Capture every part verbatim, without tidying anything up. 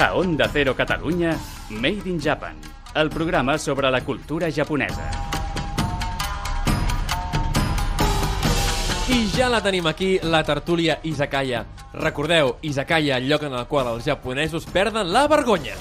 A Onda Cero Catalunya, Made in Japan, el programa sobre la cultura japonesa. I ja la tenim aquí, la tertúlia Izakaya. Recordeu, Izakaya, el lloc en el qual els japonesos perden la vergonya.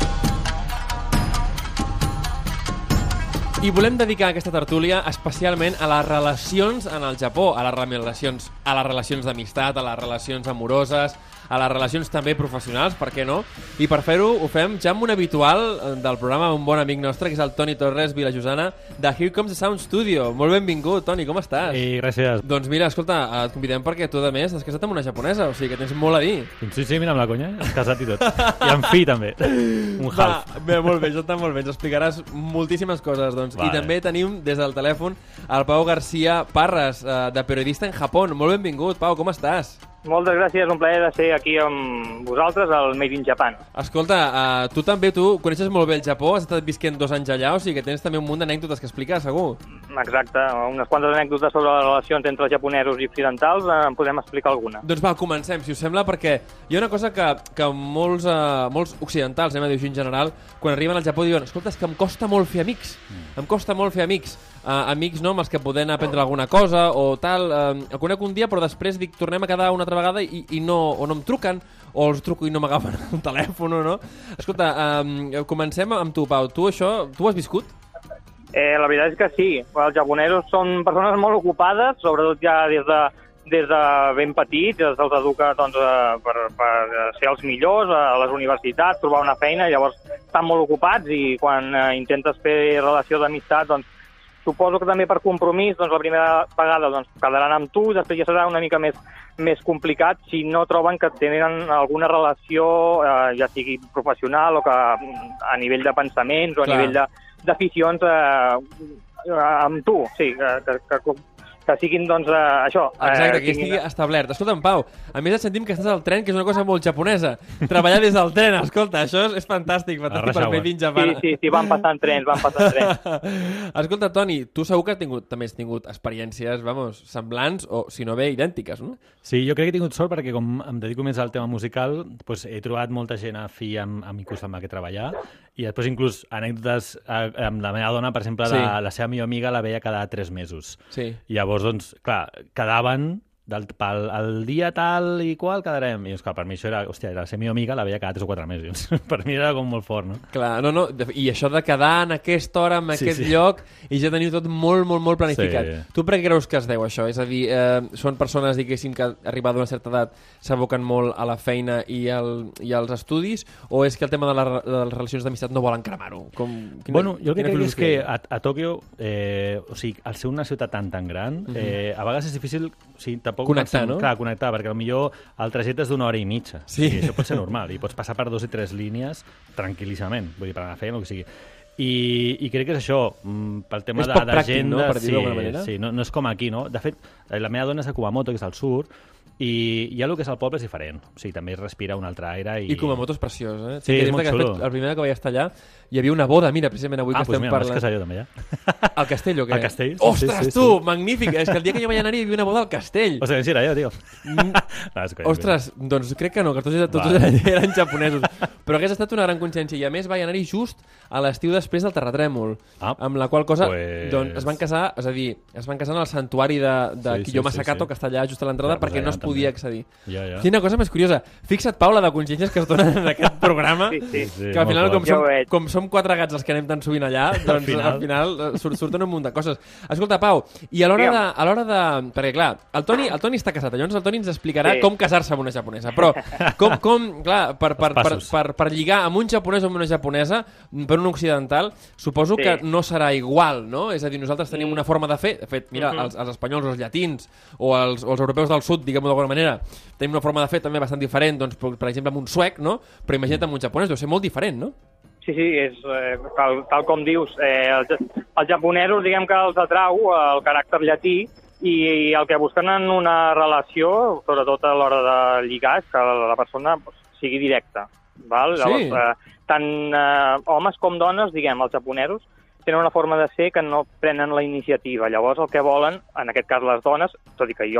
I volem dedicar aquesta tertúlia especialment a les relacions en el Japó, a les relacions, a les relacions d'amistat, a les relacions amoroses, a les relacions també professionals, per què no? I per fer-ho ho fem ja amb un habitual del programa, un bon amic nostre, que és el Toni Torres Vilajosana, de Here Comes the Sound Studio. Molt benvingut, Toni, com estàs? I gràcies. Doncs mira, escolta, et convidem perquè tu, a més, has casat amb una japonesa, o sigui que tens molt a dir. Sí, sí, mira, amb la conya, has casat i tot. I amb fi, també. Un half. Va, bé, molt bé, això està molt bé, ens explicaràs moltíssimes coses, doncs. Vale. I també tenim des del telèfon el Pau García Parras, eh, de Periodista en Japó. Molt benvingut, Pau, com estàs? Moltes gràcies, un plaer de ser aquí amb vosaltres al Made in Japan. Escolta, uh, tu també, tu coneixes molt bé el Japó, has estat visquent dos anys allà, o sigui que tens també un munt d'anècdotes que explicar, segur. Exacte, unes quantes anècdotes sobre les relacions entre els japonesos i occidentals, eh, en podem explicar alguna. Doncs va, comencem, si us sembla, perquè hi ha una cosa que, que molts, uh, molts occidentals, anem a dir així en general, quan arriben al Japó diuen, escolta, és que em costa molt fer amics, mm. em costa molt fer amics. Uh, amics no, amb els que podem aprendre alguna cosa o tal, uh, el conec un dia però després dic tornem a quedar una altra vegada i, i no, o no em truquen o els truco i no m'agafen el telèfon, no? Escolta, um, comencem amb tu, Pau. Tu això, tu ho has viscut? Eh, la veritat és que sí. Els japonesos són persones molt ocupades, sobretot ja des de, des de ben petits, se'ls educa doncs, per, per ser els millors a les universitats, trobar una feina, llavors estan molt ocupats i quan eh, intentes fer relació d'amistat, doncs suposo que també per compromís, doncs la primera vegada doncs, quedaran amb tu, després ja serà una mica més, més complicat si no troben que tenen alguna relació, eh, ja sigui professional o que a nivell de pensaments o a Clar. nivell d'aficions eh, amb tu, sí, que, que, que, que siguin, doncs, eh, això. Exacte, eh, que estigui establert. Escolta'm, Pau, a més et sentim que estàs al tren, que és una cosa molt japonesa. Treballar des del tren, escolta, això és, és fantàstic, fantàstic per Made in Japan. Sí, sí, sí, van passant trens, van passant trens. Escolta, Toni, tu segur que has tingut, també has tingut experiències, vamos, semblants o, si no bé, idèntiques, no? Sí, jo crec que he tingut sort perquè com em dedico més al tema musical, doncs he trobat molta gent afí amb, amb inclús amb la que treballar i després inclús anècdotes eh, amb la meva dona, per exemple, Sí. la, la seva millor amiga la veia cada tres mesos. Sí. I llavors, doncs, clar, quedaven del, pel el dia tal i qual quedarem. I, doncs, clar, per mi això era, hòstia, era la seva millor amiga, la veia cada tres o quatre mesos. Per mi era com molt fort, no? Clar, no, no, i això de quedar en aquesta hora, en Sí, aquest sí. lloc, i ja teniu tot molt, molt, molt planificat. Sí. Tu per què creus que es deu això? És a dir, eh, són persones, diguéssim, que arribada a una certa edat s'aboquen molt a la feina i, al, i als estudis, o és que el tema de, la, de les relacions d'amistat no volen cremar-ho? Com, quina, Bueno, jo el que quina crec és que filosofia? a, a Tòquio, eh, o sigui, al ser una ciutat tan, tan gran, Mhm. eh, a vegades és difícil, o sigui, tampoc Connectar, pensem- no? Clar, connectar, perquè potser el trajecte és d'una hora i mitja. Sí. I això pot ser normal, i pots passar per dos i tres línies tranquil·líssimament, vull dir, per anar a feina, el que sigui. I, i crec que és això, mm, pel tema És de- poc pràctic, no?, d'agenda, per dir-ho d'alguna manera. sí, no, no és com aquí, no? De fet, eh, la meva dona és a Kumamoto, que és al sud, i ja el que és el poble és diferent. O sigui, també es respira un altre aire. I, I Kumamoto és preciós, eh? Sí, que és dir-te molt que, de xulo. fet, el primer que vaig estar allà hi havia una boda, mira, precisament avui Ah, que doncs estem mira, parlant. m'has casat jo també, ja. Al castell, o què? Al castell, sí, Ostres, sí, sí, tu, sí. magnífic! És que el dia que jo vaig anar hi havia una boda al castell. O sigui, sí, era jo, tio. Mm. No, és conya, Ostres, doncs crec que no, que tots, tots Vale. eren, eren japonesos. Però hagués estat una gran consciència. I a més vaig anar-hi just a l'estiu després del terratrèmol. Ah, amb la qual cosa pues- doncs, es van casar, és a dir, es van casar en el santuari de, de Sí, sí, Kiyoma sí, Sakato, sí. que està allà just a l'entrada, Ja, pues perquè no allà es podia també. accedir. Ja, ja. Quina cosa més curiosa. Fixa't, Paula, de consciències que es donen en aquest programa, Sí, sí. Sí, que al molt final, fort. com Ja som, ho veig. com som quatre gats els que anem tan sovint allà, doncs final. al final eh, surt, surten un munt de coses. Escolta, Pau, i a l'hora de, Digue'm. a l'hora de... Perquè, clar, el Toni, el Toni està casat, llavors el Toni ens explicarà Sí. com casar-se amb una japonesa. Però, com, com clar, per, per, Els per, passos. per, per lligar amb un japonès o amb una japonesa, per un occidental, suposo Sí. que no serà igual, no? És a dir, nosaltres tenim Mm. una forma de fer, de fet, mira, Mhm. els, els espanyols, els llatins, o els, o els europeus del sud, diguem-ho d'alguna manera, tenim una forma de fer també bastant diferent, doncs, per, per exemple, amb un suec, no? Però imagina't amb un japonès, deu ser molt diferent, no? Sí, sí, és, eh, tal, tal com dius. Eh, els, els japonesos, diguem que els atrau el caràcter llatí i, i el que busquen en una relació, sobretot a l'hora de lligar, és que la persona pues, sigui directa. Val? Sí. Llavors, eh, tant eh, homes com dones, diguem, els japonesos, tenen una forma de ser que no prenen la iniciativa. Llavors, el que volen, en aquest cas les dones, tot i que jo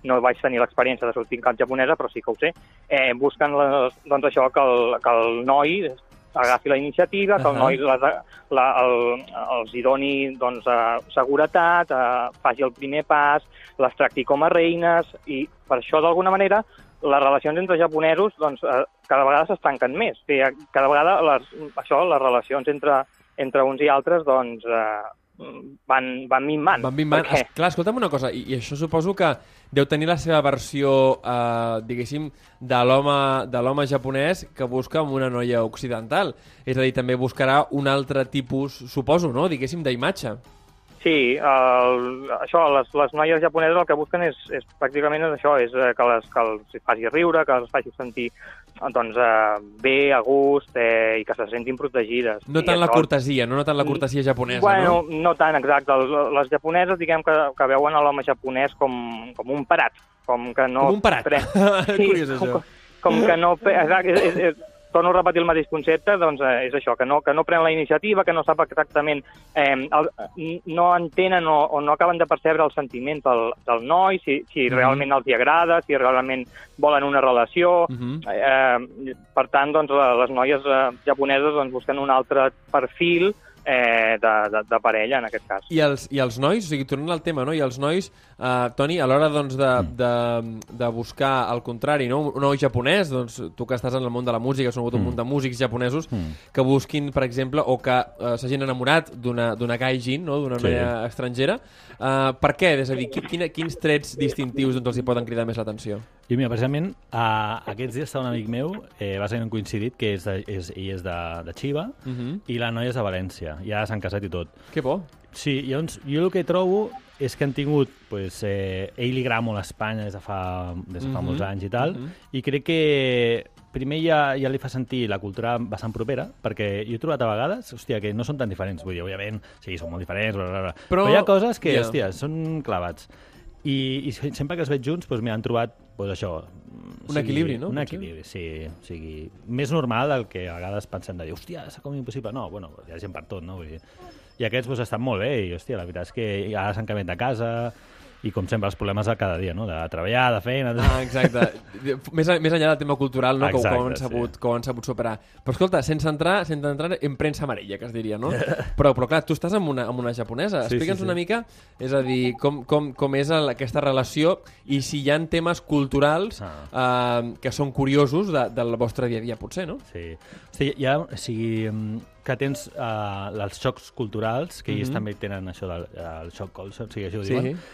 no vaig tenir l'experiència de sortir en cap japonesa, però sí que ho sé, eh, busquen les, doncs això, que el, que el noi agafi la iniciativa, que el noi les, la, el, els hi doni doncs, uh, seguretat, uh, faci el primer pas, les tracti com a reines, i per això, d'alguna manera, les relacions entre japonesos doncs, uh, cada vegada s'estanquen més. O sigui, cada vegada les, això, les relacions entre, entre uns i altres doncs, uh, van, van minvant. Van minvant. Perquè... Es, clar, escolta'm una cosa, i, i això suposo que deu tenir la seva versió, eh, diguéssim, de l'home de l'home japonès que busca amb una noia occidental. És a dir, també buscarà un altre tipus, suposo, no?, diguéssim, d'imatge. Sí, el, això, les, les noies japoneses el que busquen és, és pràcticament és això, és que, les, que els faci riure, que els faci sentir doncs, eh, bé, a gust, eh, i que se sentin protegides. No tant la cortesia, no, no tant la cortesia japonesa, bueno, no? No tant, exacte. Les japoneses, diguem que, que veuen a l'home japonès com, com un parat. Com que no... Com un parat. Pre... Sí, Curiós, com, això. com que no... Exacte, és, és, és, torno a repetir el mateix concepte, doncs eh, és això, que no, que no pren la iniciativa, que no sap exactament, eh, el, no entenen o, o no acaben de percebre els sentiments del, del noi, si, si uh-huh. realment els hi agrada, si realment volen una relació. Uh-huh. eh, per tant, doncs, les noies eh, japoneses doncs, busquen un altre perfil eh, de, de, de parella, en aquest cas. I els, i els nois, o sigui, tornant al tema, no? I els nois, eh, Toni, a l'hora doncs, de, de, de buscar el contrari, no? Un noi japonès, doncs, tu que estàs en el món de la música, has conegut un munt de músics japonesos mm. que busquin, per exemple, o que eh, s'hagin enamorat d'una d'una gaijin, no? D'una noia sí. estrangera. Eh, per què? És a dir, quin, quins trets distintius doncs, els hi poden cridar més l'atenció? I mira, precisament, uh, aquests dies està un amic meu, eh, bàsicament coincidit, que és de, és, ell és de, de Chiba, uh -huh. i la noia és de València. Ja s'han casat i tot. Que bo. Sí, llavors, jo el que trobo és que han tingut... Pues, eh, ell li agrada molt a Espanya des de fa, des de fa uh -huh. molts anys i tal, uh -huh. i crec que primer ja, ja li fa sentir la cultura bastant propera, perquè jo he trobat a vegades, hòstia, que no són tan diferents. Vull dir, òbviament, sí, són molt diferents, bla, bla, bla. Però, però hi ha coses que, yeah. hòstia, són clavats. I, i sempre que els veig junts, doncs, m'han trobat pues, això... Un sigui, equilibri, no? Un equilibri, sí. O sigui, més normal del que a vegades pensem de dir, hòstia, és com impossible. No, bueno, hi ha gent per tot, no? Vull dir, i aquests pues, estan molt bé, i hòstia, la veritat és que ara s'han canviat de casa, i com sempre els problemes de cada dia, no? De treballar, de feina... De... Ah, exacte. més, més enllà del tema cultural, no? Exacte, que, ho han sabut, sí. que ho han sabut superar. Però escolta, sense entrar, sense entrar en premsa amarella, que es diria, no? però, però clar, tu estàs amb una, amb una japonesa. Sí, Explica'ns sí, sí. una mica, és a dir, com, com, com és el, aquesta relació i si hi ha temes culturals ah. eh, que són curiosos de, del vostre dia a dia, potser, no? Sí. Hosti, hi ha, o sigui, que tens uh, els xocs culturals, que ells mm-hmm. també tenen això del el xoc culture, o sigui, això ho diuen, sí.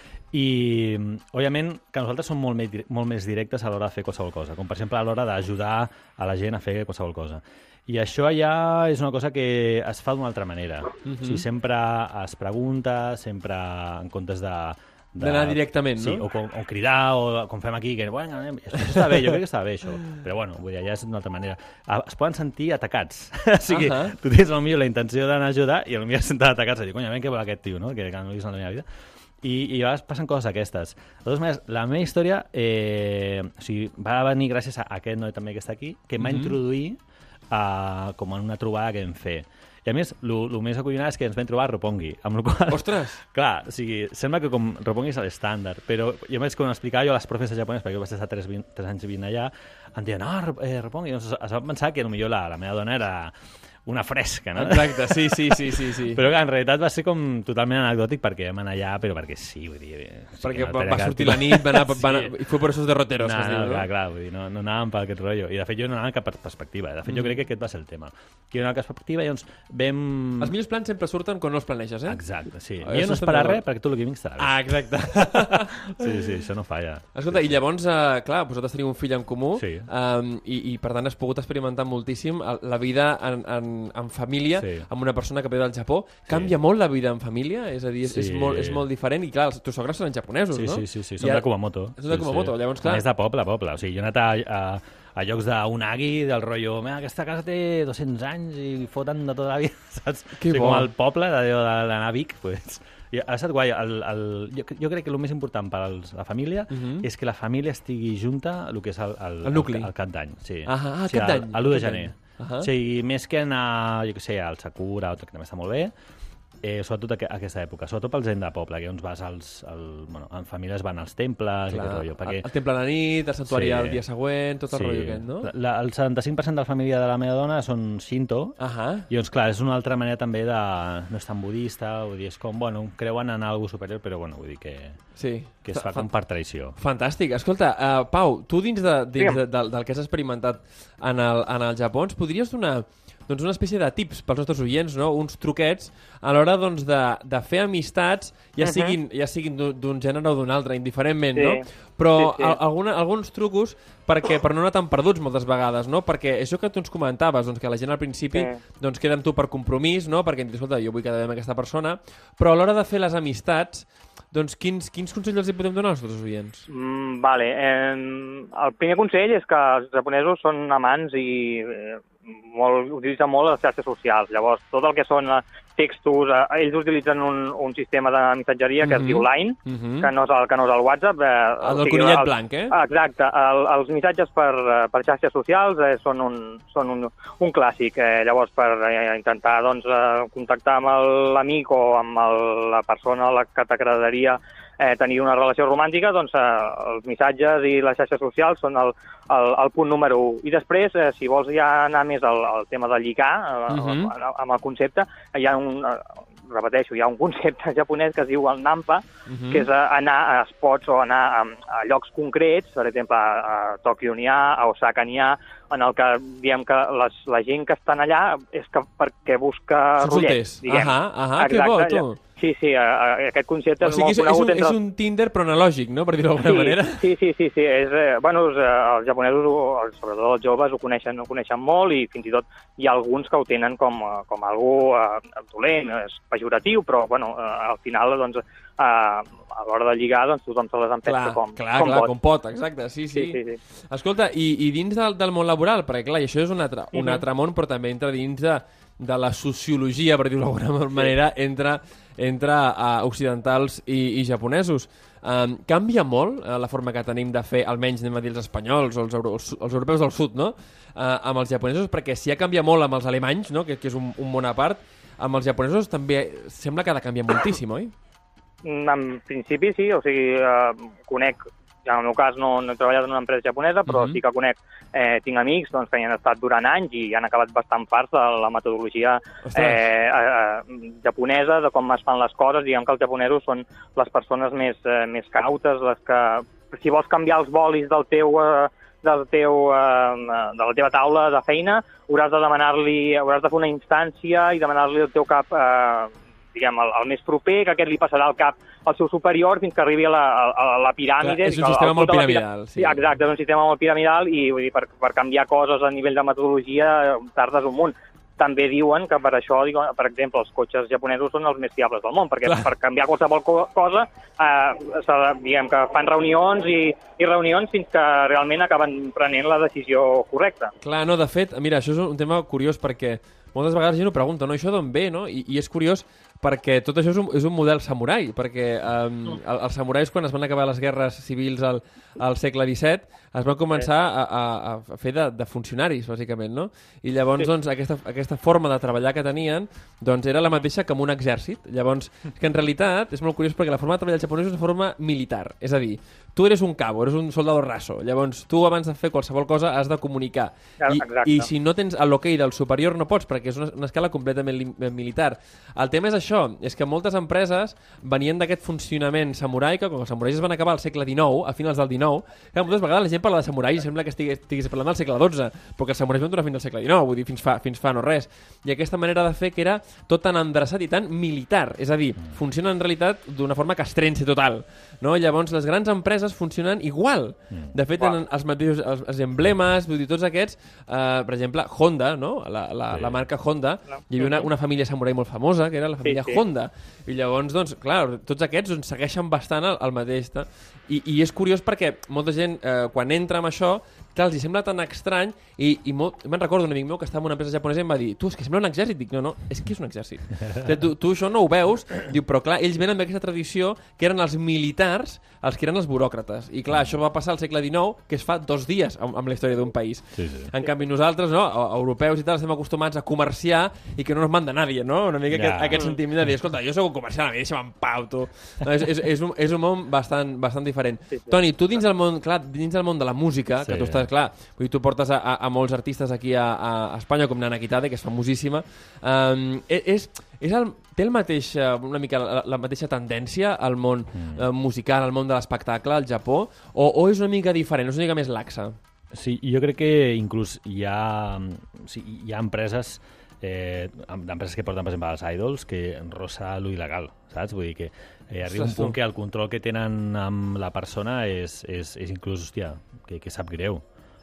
I, òbviament, que nosaltres som molt més, molt més directes a l'hora de fer qualsevol cosa, com per exemple a l'hora d'ajudar a la gent a fer qualsevol cosa. I això ja és una cosa que es fa d'una altra manera. Uh-huh. O sigui, sempre es pregunta, sempre en comptes de... d'anar directament, no? Sí, o, com, o cridar, o com fem aquí, que bueno, això, això està bé, jo crec que està bé, això. Però bueno, vull dir, ja és d'una altra manera. Es poden sentir atacats. o sigui, uh -huh. tu tens potser la intenció d'anar a ajudar i potser senten atacats i dir, conya, ben què vol aquest tio, no? Que, que no he vist en la meva vida. I, i a vegades passen coses aquestes. De totes maneres, la meva història eh, o sigui, va venir gràcies a aquest noi també que està aquí, que em va mm-hmm. introduir uh, com en una trobada que vam fer. I a més, el més acollonat és que ens vam trobar a Roppongi. Amb la qual, ostres! Clar, o sigui, sembla que com Roppongi és l'estàndard, però jo més com explicava jo a les profes japoneses, perquè jo vaig estar tres, tres anys vivint allà, em diuen, no, eh, Roppongi, doncs es va pensar que potser la, la meva dona era una fresca, no? Exacte, sí, sí, sí, sí, sí. Però que en realitat va ser com totalment anecdòtic perquè vam anar allà, però perquè sí, vull dir... Perquè sí, va, va sortir la nit, va anar, va anar, sí. i fue por esos derroteros. No, que es diu, no, no? clar, clar, vull dir, no, no anàvem per aquest rotllo. I de fet jo no anava en cap perspectiva. De fet jo mm. crec que aquest va ser el tema. Que jo no anava en cap perspectiva i llavors vam... Els millors plans sempre surten quan no els planeges, eh? Exacte, sí. Oh, jo no esperar res perquè tot el que vinc estarà bé. Ah, exacte. sí, sí, això no falla. Escolta, sí, i llavors, uh, clar, vosaltres teniu un fill en comú sí. um, i, i per tant has pogut experimentar moltíssim la vida en, en, en família sí. amb una persona que ve del Japó. Canvia sí. molt la vida en família? És a dir, és, sí. és, molt, és molt diferent i clar, els teus sogres són japonesos, sí, no? Sí, sí, sí, són de Kumamoto. Són de Kumamoto, sí, sí. llavors clar... És de poble a poble, o sigui, jo he anat a... a a llocs d'Unagi, del rotllo, aquesta casa té dos-cents anys i foten de tota la vida, saps? Que o sigui, bo. Com el poble d'anar a Vic, pues... I ha estat guai. El, el, jo, jo crec que el més important per als, la família uh -huh. és que la família estigui junta el que és el, el, el nucli. El, el cap d'any. Sí. Ah, ah, o sigui, cap d'any. l'u de gener. Uh -huh. O sigui, més que anar, jo què sé, al Sakura, que també està molt bé, eh, sobretot aqu aquesta època, sobretot pel gent de poble, que on vas als... El, bueno, en famílies van als temples. Clar, i aquest rotllo. Perquè... El, el temple a la nit, el santuari sí, el dia següent, tot el sí. rotllo aquest, no? La, el setanta-cinc per cent de la família de la meva dona són Shinto, uh -huh. i doncs, clar, és una altra manera també de... No és tan budista, vull dir, és com, bueno, creuen en alguna superior, però, bueno, vull dir que... Sí. Que es fa com per traïció. Fantàstic. Escolta, uh, Pau, tu dins, de, dins de, de, del que has experimentat en el, en el Japó, ens podries donar doncs, una espècie de tips pels nostres oients, no? Uns truquets a l'hora doncs, de, de fer amistats, ja siguin, uh -huh. ja siguin d'un gènere o d'un altre, indiferentment, sí. no? Però sí, sí. Alguna, alguns trucos perquè, per no anar tan perduts moltes vegades, no? Perquè això que tu ens comentaves, doncs, que la gent al principi sí. doncs, queda amb tu per compromís, no? Perquè, escolta, jo vull quedar bé amb aquesta persona, però a l'hora de fer les amistats, doncs quins, quins consells els hi podem donar als nostres oients? Mm, vale. Eh, el primer consell és que els japonesos són amants i eh, molt, utilitzen molt les xarxes socials. Llavors, tot el que són textos, eh, ells utilitzen un, un sistema de missatgeria que mm -hmm. es diu Line, mm -hmm. que, no és el, que no és el WhatsApp. Eh, el del conillet el, blanc, eh? Exacte. El, els missatges per, per xarxes socials eh, són, un, són un, un clàssic. Eh, llavors, per eh, intentar doncs, eh, contactar amb l'amic o amb el, la persona a la que t'agradaria eh, tenir una relació romàntica, doncs eh, els missatges i les xarxes socials són el, el, el punt número un. I després, eh, si vols ja anar més al, al tema de lligar, eh, uh -huh. amb el concepte, hi ha un... repeteixo, hi ha un concepte japonès que es diu el Nampa, uh -huh. que és anar a spots o anar a, a llocs concrets, per exemple, a, a Tòquio n'hi ha, a Osaka n'hi ha, en el que diem que les, la gent que estan allà és que perquè busca rotllets, diguem. Ahà, ahà, que bo, tu. Sí, sí, aquest concepte o sigui, és molt és, conegut. És un, és un Tinder però analògic, no?, per dir-ho d'alguna sí, manera. Sí, sí, sí, sí. És, eh, bueno, els, els japonesos, sobretot els joves, ho coneixen, ho coneixen molt i fins i tot hi ha alguns que ho tenen com, com algú eh, dolent, és pejoratiu, però, bueno, eh, al final, doncs, eh, a l'hora de lligar, doncs, tothom se les empesca com, clar, com clar, pot. com pot, exacte, sí, sí. sí, sí, sí. Escolta, i, i dins del, del món laboral, perquè, clar, i això és un altre, un uh -huh. altre món, però també entra dins de, de la sociologia, per dir-ho d'alguna manera, sí. entre entre uh, occidentals i, i japonesos. Um, canvia molt uh, la forma que tenim de fer, almenys anem a dir els espanyols o els, euro, els, els europeus del sud, no? Uh, amb els japonesos, perquè si ja canvia molt amb els alemanys, no? que, que és un, un món a part, amb els japonesos també sembla que ha de canviar moltíssim, oi? En principi sí, o sigui, uh, conec, ja en el meu cas no, no he treballat en una empresa japonesa, però uh-huh. sí que conec, eh, tinc amics doncs, que hi han estat durant anys i han acabat bastant farts de la metodologia eh, eh, japonesa, de com es fan les coses. Diguem que els japonesos són les persones més, eh, més cautes, les que, si vols canviar els bolis del teu... Eh, del teu, eh, de la teva taula de feina, hauràs de demanar-li, hauràs de fer una instància i demanar-li al teu cap... Eh, diguem, el, el més proper, que aquest li passarà al cap al seu superior fins que arribi a la, a la piràmide. Clar, és un sistema molt piramidal. Sí. Exacte, és un sistema molt piramidal i vull dir, per, per canviar coses a nivell de metodologia tardes un munt. També diuen que per això, dic, per exemple, els cotxes japonesos són els més fiables del món, perquè clar. Per canviar qualsevol co cosa, eh, diguem que fan reunions i, i reunions fins que realment acaben prenent la decisió correcta. Clar, no, de fet, mira, això és un tema curiós perquè moltes vegades gent ho pregunta, no? Això d'on ve, no? I, i és curiós perquè tot això és un, és un model samurai, perquè um, el, els samurais, quan es van acabar les guerres civils al, al segle disset, es van començar a, a, a fer de, de funcionaris, bàsicament, no? I llavors, doncs, aquesta, aquesta forma de treballar que tenien, doncs, era la mateixa que amb un exèrcit. Llavors, que en realitat és molt curiós perquè la forma de treballar del japonès és una forma militar, és a dir, tu eres un cabo, eres un soldado raso, llavors tu abans de fer qualsevol cosa has de comunicar. I, i si no tens l'hoquei del superior no pots, perquè és una, una escala completament militar. El tema és això, és que moltes empreses venien d'aquest funcionament samurai, que quan els samurais es van acabar al segle dinou, a finals del dinou, que moltes vegades la gent parla de samurai i sembla que estigués, estigués parlant del segle dotze, però que els samurais van durar fins al segle dinou, vull dir, fins fa, fins fa no res. I aquesta manera de fer que era tot tan endreçat i tan militar, és a dir, funciona en realitat d'una forma castrense total, no? Llavors les grans empreses funcionen igual. De fet, tenen els mateixos els, els emblemes, vull dir, tots aquests, eh, per exemple, Honda, no? La, la, sí. la marca Honda, hi havia una, una família samurai molt famosa, que era la família sí, sí. Honda, i llavors, doncs, clar, tots aquests doncs, segueixen bastant el, el mateix. Ta? I, i és curiós perquè molta gent, eh, quan entra amb això, clar, els hi sembla tan estrany i, i molt... me'n recordo un amic meu que estava en una empresa japonesa i em va dir, tu, és que sembla un exèrcit. Dic, no, no, és que és un exèrcit. tu, tu això no ho veus, diu, però clar, ells venen d'aquesta tradició que eren els militars els que eren els buròcrates. I clar, això va passar al segle dinou, que es fa dos dies amb, amb la història d'un país. Sí, sí. En canvi, nosaltres, no, europeus i tal, estem acostumats a comerciar i que no nos manda nadie, no? Una mica ja. aquest, aquest sentiment de dir, escolta, jo soc un comerciant, a mi deixa'm en pau, tu. No, és, és, és, un, és un món bastant, bastant diferent. Sí, sí. Toni, tu dins del món, clar, dins del món de la música, sí. que tu estàs, clar, vull dir, tu portes a, a, a molts artistes aquí a, a Espanya, com Nana Kitade, que és famosíssima. Um, és, és el, té el mateix, una mica la, la mateixa tendència al món mm. uh, musical, al món de l'espectacle, al Japó, o, o és una mica diferent, és una mica més laxa? Sí, jo crec que inclús hi ha, sí, hi ha empreses eh, d'empreses que porten, per exemple, els idols, que rosa lo il·legal, saps? Vull dir que eh, arriba un punt que el control que tenen amb la persona és, és, és inclús, hòstia, que, que sap greu.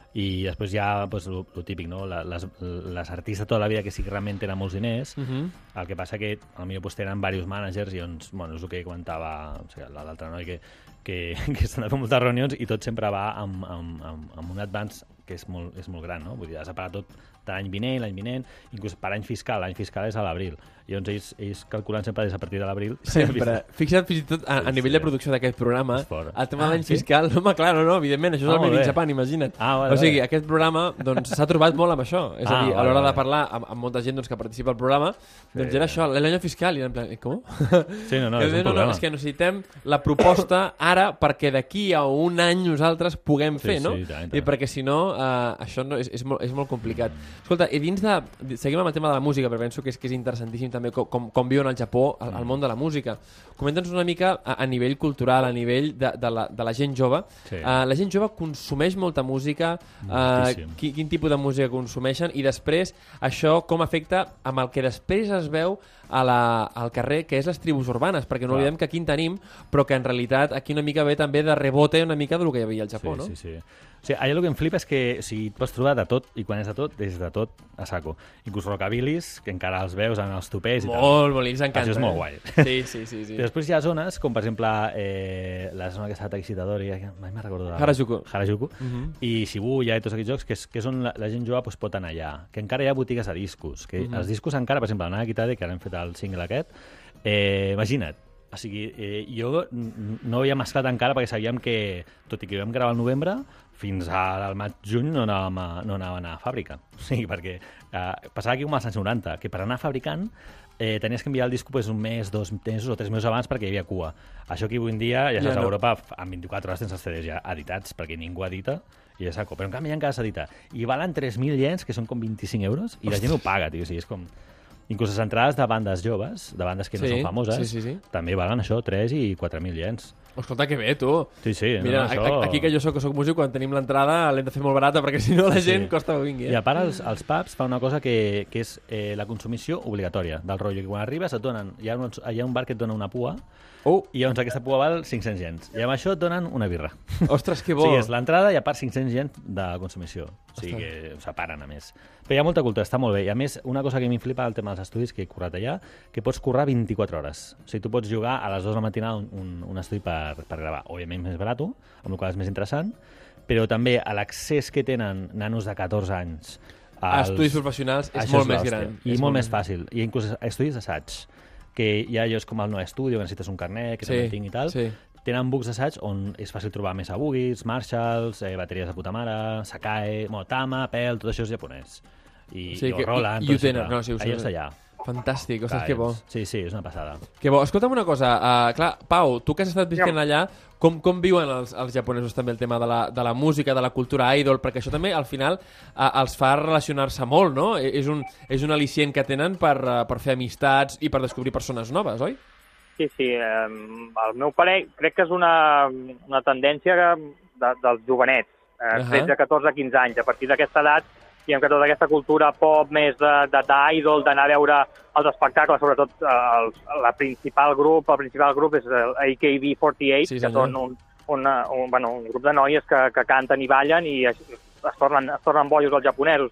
I després hi ha pues, lo, lo típic, no? Les, les artistes tota la vida que sí que realment tenen molts diners, uh -huh. el que passa que potser pues, tenen diversos managers i doncs, bueno, és el que comentava o sigui, l'altre noi, que, que, que estan a fer moltes reunions i tot sempre va amb, amb, amb, amb un advance que és molt, és molt gran, no? Vull dir, has de pagar tot de l'any vinent, l'any vinent, inclús per any fiscal, l'any fiscal és a l'abril. I llavors ells, ells calculen sempre des a partir de l'abril. Sempre. Fixa't fins i tot a, a nivell sí. de producció d'aquest programa, el tema de l'any ah, sí? fiscal, no, home, clar, no, no, evidentment, això és ah, el Made in Japan, imagina't. Ah, vale, o sigui, vale. Aquest programa doncs, s'ha trobat molt amb això. És ah, a dir, a l'hora vale, de parlar amb, amb molta gent doncs, que participa al programa, doncs sí, era això, l'any fiscal, i era en plan, com? Sí, no, no, és un no, no, és que necessitem la proposta ara perquè d'aquí a un any nosaltres puguem fer, sí, no? Sí, tant, tant. I perquè si no, uh, això no, és, és, molt, és molt complicat. Escolta, i dins de... Seguim amb el tema de la música, però penso que és, que és interessantíssim també com, com, com viuen al Japó al, al món de la música. Comenta'ns una mica a, a nivell cultural, a nivell de, de, la, de la gent jove. Sí. Uh, la gent jove consumeix molta música, uh, quin, quin tipus de música consumeixen i després això com afecta amb el que després es veu a la, al carrer, que és les tribus urbanes, perquè no oblidem que aquí en tenim, però que en realitat aquí una mica ve també de rebote una mica del que hi havia al Japó, sí, no? Sí, sí. O sigui, allà el que em flipa és que o sigui, pots trobar de tot, i quan és de tot, és de tot a saco. Inclús rockabilis, que encara els veus en els topers i molt, tal. Molt, molt, ells encanta. Això és molt guai. Sí, sí, sí. sí. I després hi ha zones, com per exemple eh, la zona que està Taixitadori, mai me'n recordo de... Harajuku. Harajuku. Uh -huh. I Shibuya i tots aquests jocs, que és, que és on la, la gent jove pues, pot anar allà. Que encara hi ha botigues de discos. Que uh -huh. Els discos encara, per exemple, la Nana Kitade, que ara hem fet el single aquest, eh, imagina't, o sigui, eh, jo no havia mesclat encara perquè sabíem que, tot i que vam gravar al novembre, fins al maig-juny no anàvem a, no anàvem a anar a fàbrica. O sigui, perquè eh, passava aquí com als anys noranta, que per anar fabricant eh, tenies que enviar el disco pues, un mes, dos mesos o tres mesos abans perquè hi havia cua. Això que avui en dia, ja saps, ja no. a Europa, en vint-i-quatre hores tens els C Ds ja editats, perquè ningú edita, i ja saco. Però en canvi encara s'edita. I valen tres mil iens, que són com vint-i-cinc euros, i la gent ho paga, tio. O sigui, és com... Inclús les entrades de bandes joves, de bandes que no sí, són famoses, sí, sí, sí. també valen això, tres i quatre mil iens. Escolta, que bé, tu. Sí, sí. Mira, no, això... aquí que jo soc, que soc músic, quan tenim l'entrada l'hem de fer molt barata, perquè si no la gent sí. costa que vingui. Eh? I a part, els, els pubs fan una cosa que, que és eh, la consumició obligatòria, del rotllo, que quan arribes et donen, hi ha un, hi ha un bar que et dona una pua, oh. i llavors aquesta pua val cinc-cents iens. I amb això et donen una birra. Ostres, que bo! Sí, és l'entrada i a part cinc-cents iens de consumició. O sigui que ho separen, a més. Però hi ha molta cultura, està molt bé. I a més, una cosa que m'hi flipa el tema dels estudis, que he currat allà, que pots currar vint-i-quatre hores. O sigui, tu pots jugar a les dues de la matinada un, un, un estudi per, per gravar. Òbviament més barat, amb el qual és més interessant, però també l'accés que tenen nanos de catorze anys als estudis professionals és molt més gran. I molt més fàcil. I inclús estudis d'assaig, que hi ha llocs com el No Estudio, que necessites un carnet, que sí, també tinc i tal, sí. tenen books d'assaig on és fàcil trobar Mesa Bugis, Marshalls, eh, bateries de puta mare, Sakae, bueno, Tama, Pel, tot això és japonès. I, sí, i que, Roland, i, i ho tenen, no, sí, ho allà està allà. Fantàstic, ostres, que bo. Sí, sí, és una passada. Que bo. Escolta'm una cosa, uh, clar, Pau, tu que has estat visquent allà, com, com viuen els, els japonesos també el tema de la, de la música, de la cultura idol? Perquè això també, al final, uh, els fa relacionar-se molt, no? És un, és un al·licient que tenen per, uh, per fer amistats i per descobrir persones noves, oi? Sí, sí. Eh, al meu parer, crec que és una, una tendència de, dels jovenets, eh, uh -huh. tretze, catorze, quinze anys. A partir d'aquesta edat, diguem que tota aquesta cultura pop més d'idol, d'anar a veure els espectacles, sobretot el, la principal grup, el principal grup és el A K B quaranta-vuit, sí, que són un, una, un, bueno, un grup de noies que, que canten i ballen i es, es, tornen, es tornen bojos els japonesos.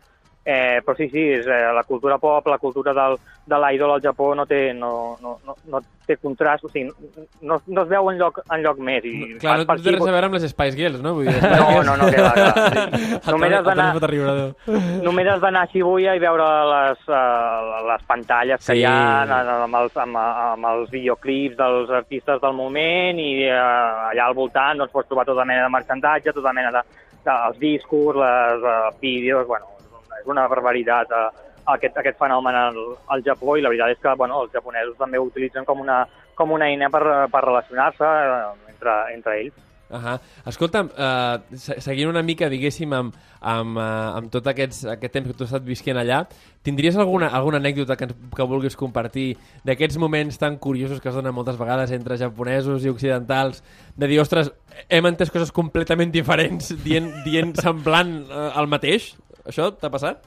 Eh, però sí, sí, és, eh, la cultura pop, la cultura del, de l'idol al Japó no té, no, no, no, no té contrast, o sigui, no, no es veu enlloc, enlloc més. I no, clar, no té res a veure amb les Spice Girls, no? Vull dir, no, no, no, que va, clar. Sí. Només has d'anar només has d'anar a Shibuya i veure les, uh, les pantalles que sí. hi ha amb els, amb, amb els videoclips dels artistes del moment i uh, allà al voltant doncs, pots trobar tota mena de merchandatge, tota mena de, de els discos, les uh, vídeos, bueno, és una barbaritat uh, aquest, aquest fenomen al, al Japó i la veritat és que bueno, els japonesos també ho utilitzen com una, com una eina per, per relacionar-se uh, entre, entre ells. Uh -huh. Escolta'm, uh, seguint una mica, diguéssim, amb, amb, uh, amb tot aquests, aquest temps que tu has estat visquent allà, tindries alguna, alguna anècdota que, que vulguis compartir d'aquests moments tan curiosos que es donen moltes vegades entre japonesos i occidentals, de dir, ostres, hem entès coses completament diferents dient, dient semblant uh, el mateix? Això t'ha passat?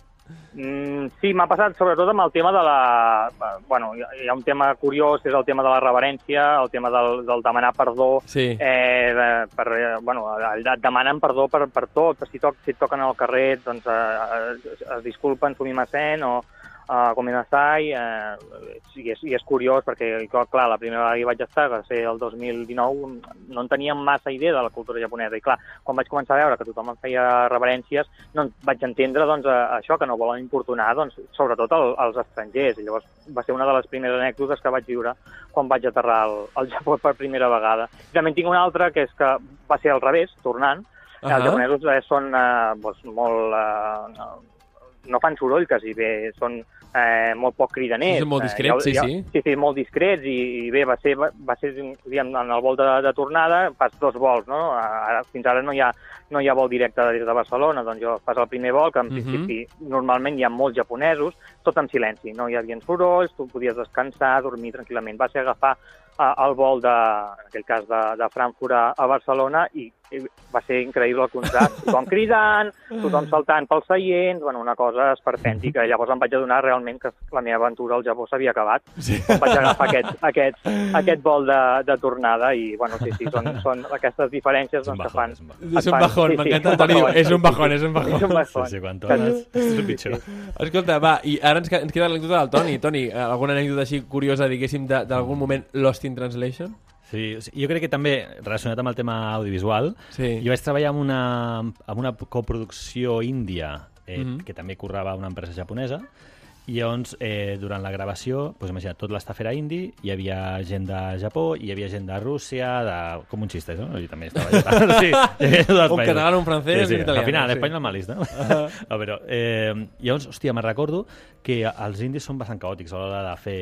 Mm, sí, m'ha passat sobretot amb el tema de la... Bueno, hi ha un tema curiós, que és el tema de la reverència, el tema del, del demanar perdó. Sí. Eh, de, per, eh, bueno, et demanen perdó per, per tot. Si, toc, si et toquen al carrer, doncs eh, es, es disculpen, sumimasen, o uh, comenasai, eh, i, és, i és curiós perquè, clar, la primera vegada que vaig estar, va ser el dos mil dinou, no en teníem massa idea de la cultura japonesa, i clar, quan vaig començar a veure que tothom em feia reverències, no vaig entendre doncs, això, que no volen importunar, doncs, sobretot el, als estrangers, i llavors va ser una de les primeres anècdotes que vaig viure quan vaig aterrar al, al Japó per primera vegada. I també en tinc una altra, que és que va ser al revés, tornant, uh-huh. Els japonesos eh, són eh, doncs, molt... Eh, no fan soroll, quasi bé, són eh, molt poc cridaners. Són molt discrets, eh, sí, sí. Sí, sí, molt discrets, i, i bé, va ser, va, va ser diguem, en el vol de, de tornada, fas dos vols, no? Ara, fins ara no hi ha, no hi ha vol directe des de Barcelona, doncs jo fas el primer vol, que en uh-huh. principi normalment hi ha molts japonesos, tot en silenci, no hi havia sorolls, tu podies descansar, dormir tranquil·lament. Va ser agafar eh, el vol, de, en aquell cas, de, de Frankfurt a, a Barcelona, i va ser increïble el contrast, tothom cridant, tothom saltant pels seients, bueno, una cosa esperpèntica. Llavors em vaig adonar realment que la meva aventura al Japó s'havia acabat. Sí. Em vaig agafar aquest, aquest, aquest vol de, de tornada i, bueno, sí, sí, són, són aquestes diferències doncs, que fan... És un bajón, m'encanta, Toni, és un bajón, és un bajón. És un bajón. Sí, sí, quan tornes, és el pitjor. Escolta, va, i ara ens, ens queda l'anècdota del Toni. Toni, alguna anècdota així curiosa, diguéssim, d'algun moment Lost in Translation? Sí, jo crec que també, relacionat amb el tema audiovisual, sí. Jo vaig treballar amb una, amb una coproducció índia eh, mm-hmm. que també currava una empresa japonesa, i llavors, eh, durant la gravació, doncs, imagina't, tot l'estaf era indi, hi havia gent de Japó, hi havia gent de Rússia, de... com un xiste, no? I també estava allà. Sí, un català, un francès, sí, sí. un italià. Al final, sí. l'espanyol malis, no? Uh-huh. no però, eh, llavors, hòstia, me'n recordo que els indis són bastant caòtics a l'hora de fer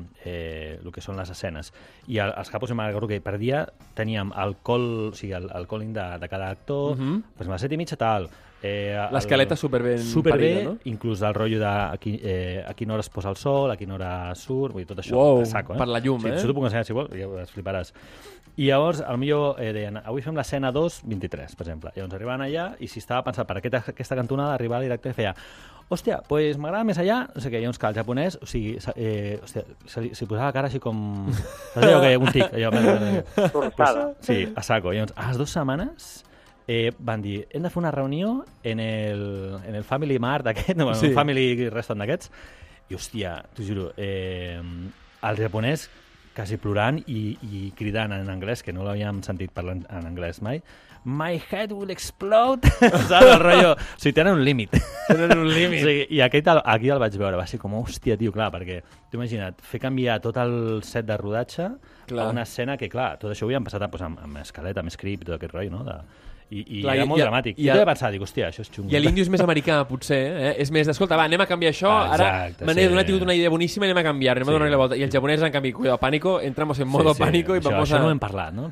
eh, el que són les escenes. I el, els capos, me'n recordo que per dia teníem el call, o sigui, el, el calling de, de cada actor, uh-huh. doncs a les set i mitja tal... Eh, l'escaleta superben superbé, parida, no? Inclús el rotllo de a, qui, eh, a quina hora es posa el sol, a quina hora surt, vull dir, tot això wow, a saco, eh? Per la llum, sí, eh? Això t'ho puc ensenyar si vols, ja es fliparàs. I llavors, potser eh, deien, avui fem l'escena dos vint-i-tres, per exemple. I llavors arribaven allà i si estava pensat per aquesta, aquesta cantonada, arribava el director i feia hòstia, pues m'agrada més allà, no sé què, llavors que el japonès, o sigui, eh, hòstia, se, se posava la cara així com... Saps allò que un tic? Allò, Torçada. Sí, a saco. I llavors, a les dues setmanes... Eh, van dir, hem de fer una reunió en el, en el Family Mart aquest, no, sí. El Family Restaurant d'aquests, i hòstia, t'ho juro, eh, el japonès quasi plorant i, i cridant en anglès, que no l'havíem sentit parlant en anglès mai, my head will explode, saps el rotllo? O sigui, tenen un límit. Tenen un límit. Sí, i aquest, aquí el vaig veure, va ser com, hòstia, tio, clar, perquè t'ho imagina't, fer canviar tot el set de rodatge clar. A una escena que, clar, tot això ho havíem passat pues, amb, amb escaleta, amb script, tot aquest rotllo, no?, de... I, i clar, era molt i, dramàtic. I, i jo he pensat, dic, hòstia, això és xungo. I l'índio és més americà, potser, eh? És més, escolta, va, anem a canviar això, ah, exacte, ara me n'he sí. donat una idea boníssima, anem a canviar, anem sí. a donar-li la volta. I el japonès, en canvi, cuidado, pánico, entramos en modo sí, sí. pánico i això, vamos això a... no hem parlat, no?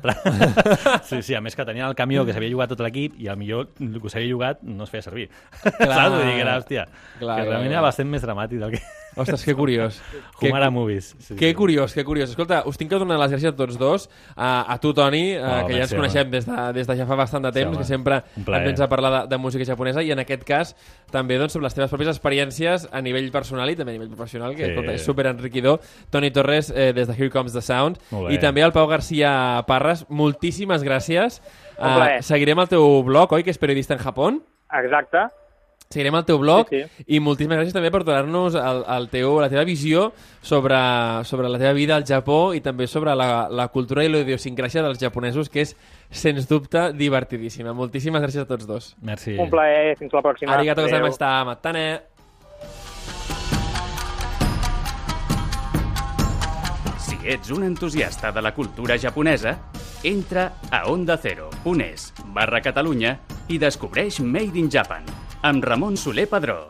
sí, sí, a més que tenia el camió que s'havia jugat tot l'equip i al millor el que s'havia jugat no es feia servir. Clar. Vull dir que era, hòstia, clar, que realment clar. Era bastant més dramàtic del que... Ostres, que curiós. Humara Movies. Sí, que sí. curiós, que curiós. Escolta, us tinc que donar les gràcies a tots dos, a, a tu, Toni, oh, que ja ens coneixem des de, des de ja fa bastant de temps, sí, que sempre ens vens a parlar de, de música japonesa, i en aquest cas també doncs, sobre les teves pròpies experiències a nivell personal i també a nivell professional, que sí. escolta, és super enriquidor. Toni Torres, eh, des de Here Comes the Sound, i també al Pau García Parras, moltíssimes gràcies. Uh, seguirem el teu blog, oi, que és Periodista en Japón? Exacte. seguirem el teu blog Sí, sí. i moltíssimes gràcies també per donar-nos el, el teu, la teva visió sobre, sobre la teva vida al Japó i també sobre la, la cultura i la idiosincràsia dels japonesos, que és, sens dubte, divertidíssima. Moltíssimes gràcies a tots dos. Merci. Un plaer, fins la pròxima. Arigato Adéu. gozaimashita. Matane. Si ets un entusiasta de la cultura japonesa, entra a onda cero punt es barra Catalunya i descobreix Made in Japan amb Ramon Soler Padró.